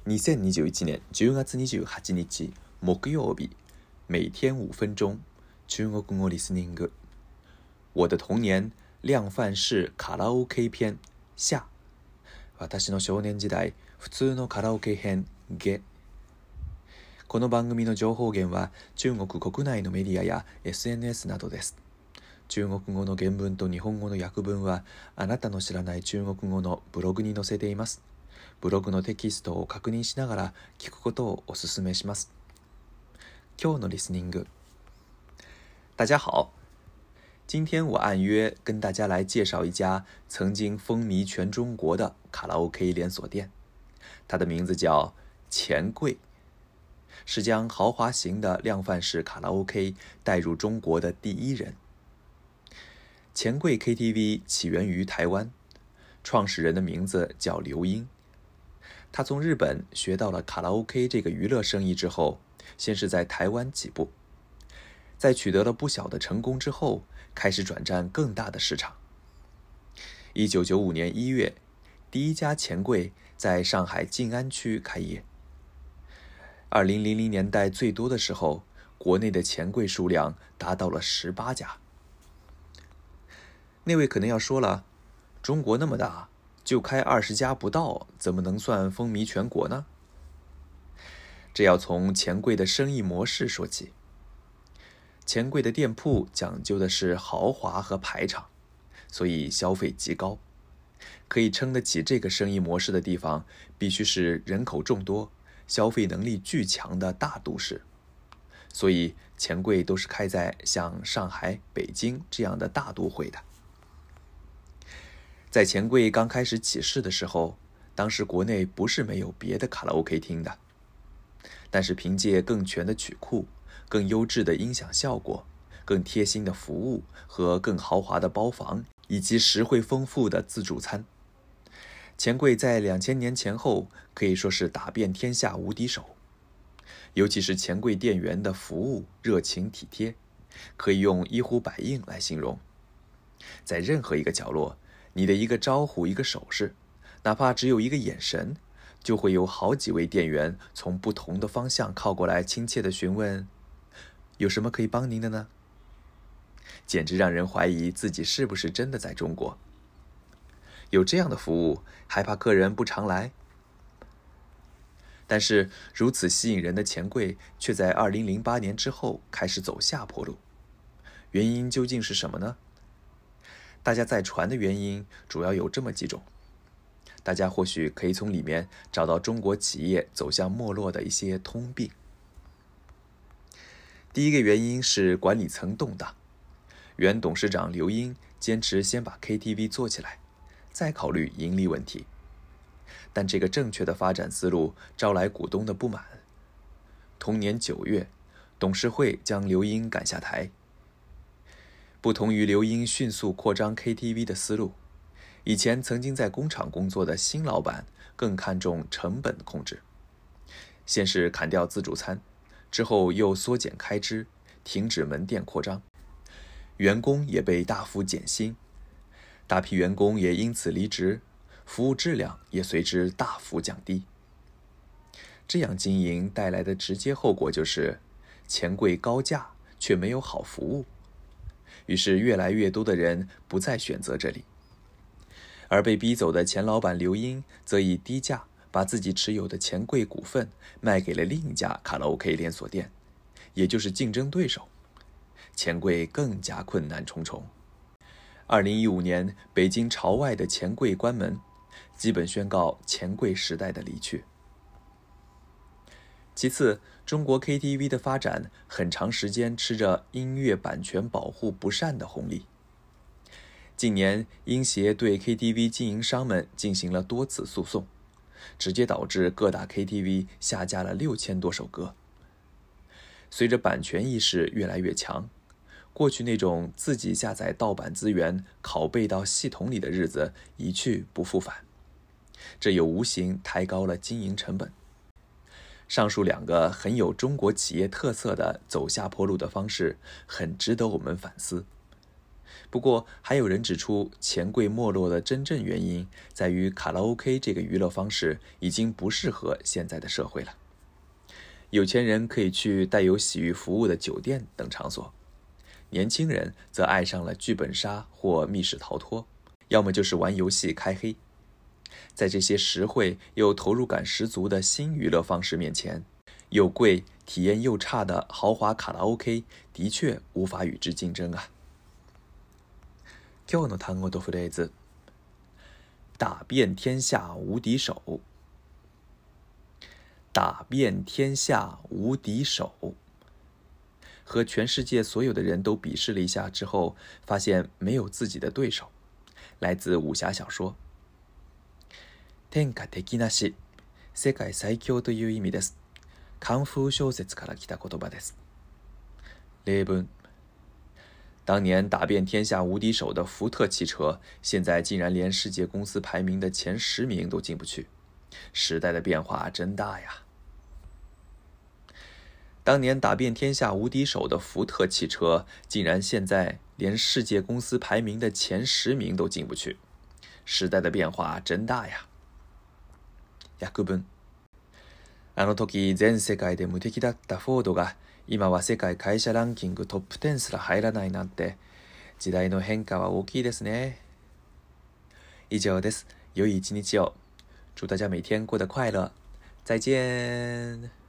2021年10月28日木曜日，每天5分钟中国語リスニング。我的童年量贩式カラオケ篇下。私の少年時代普通のカラオケ編下。この番組の情報源は中国国内のメディアや SNS などです。中国語の原文と日本語の訳文はあなたの知らない中国語のブログに載せています。ブログのテキストを確認しながら聞くことをお勧めします。今日のリスニング。大家好，今天我按约跟大家来介绍一家曾经风靡全中国的卡拉 OK 连锁店，它的名字叫钱柜，是将豪华型的量贩式卡拉 OK 带入中国的第一人。钱柜 KTV 起源于台湾，创始人的名字叫刘英。他从日本学到了卡拉 OK 这个娱乐生意之后，先是在台湾起步，在取得了不小的成功之后，开始转战更大的市场。1995年1月，第一家钱柜在上海静安区开业。2000年代最多的时候，国内的钱柜数量达到了18家。那位可能要说了，中国那么大，就开20家不到，怎么能算风靡全国呢？这要从钱柜的生意模式说起。钱柜的店铺讲究的是豪华和排场，所以消费极高。可以撑得起这个生意模式的地方，必须是人口众多、消费能力巨强的大都市。所以钱柜都是开在像上海、北京这样的大都会的。在钱柜刚开始起势的时候，当时国内不是没有别的卡拉 OK 厅的，但是凭借更全的曲库、更优质的音响效果、更贴心的服务和更豪华的包房，以及实惠丰富的自助餐，钱柜在2000年前后可以说是打遍天下无敌手。尤其是钱柜店员的服务热情体贴，可以用一呼百应来形容。在任何一个角落，你的一个招呼、一个手势，哪怕只有一个眼神，就会有好几位店员从不同的方向靠过来，亲切地询问：有什么可以帮您的呢？简直让人怀疑自己是不是真的在中国。有这样的服务，还怕客人不常来？但是如此吸引人的钱柜，却在2008年之后开始走下坡路。原因究竟是什么呢？大家在传的原因主要有这么几种，大家或许可以从里面找到中国企业走向没落的一些通病。第一个原因是管理层动荡，原董事长刘英坚持先把 KTV 做起来，再考虑盈利问题。但这个正确的发展思路招来股东的不满。同年9月，董事会将刘英赶下台。不同于刘英迅速扩张 KTV 的思路，以前曾经在工厂工作的新老板更看重成本控制。先是砍掉自助餐，之后又缩减开支，停止门店扩张，员工也被大幅减薪，大批员工也因此离职，服务质量也随之大幅降低。这样经营带来的直接后果就是钱柜高价却没有好服务，于是越来越多的人不再选择这里。而被逼走的钱老板刘英则以低价把自己持有的钱柜股份卖给了另一家卡拉 OK 连锁店，也就是竞争对手。钱柜更加困难重重。2015年，北京朝外的钱柜关门，基本宣告钱柜时代的离去。其次，中国 KTV 的发展很长时间吃着音乐版权保护不善的红利。近年，音协对 KTV 经营商们进行了多次诉讼，直接导致各大 KTV 下架了6000多首歌。随着版权意识越来越强，过去那种自己下载盗版资源拷贝到系统里的日子一去不复返，这又无形抬高了经营成本。上述两个很有中国企业特色的走下坡路的方式，很值得我们反思。 不过，还有人指出，钱柜没落的真正原因在于卡拉 OK 这个娱乐方式已经不适合现在的社会了。有钱人可以去带有洗浴服务的酒店等场所，年轻人则爱上了剧本杀或密室逃脱，要么就是玩游戏开黑。在这些实惠又投入感十足的新娱乐方式面前，又贵、体验又差的豪华卡拉 OK 的确无法与之竞争啊。今日の単語とフレーズ。打遍天下无敌手。打遍天下无敌手。和全世界所有的人都比试了一下之后，发现没有自己的对手。来自武侠小说。天下敵なし、世界最強という意味です。カンフー小説から来た言葉です。例文。当年打遍天下无敌手的福特汽车，现在竟然连世界公司排名的前10名都进不去。时代的变化真大呀！当年打遍天下无敌手的福特汽车，竟然现在连世界公司排名的前10名都进不去。时代的变化真大呀！訳文。あの時全世界で無敵だったフォードが今は世界会社ランキングトップ10すら入らないなんて、時代の変化は大きいですね。以上です。良い一日を。祝大家每天过得快乐。再见。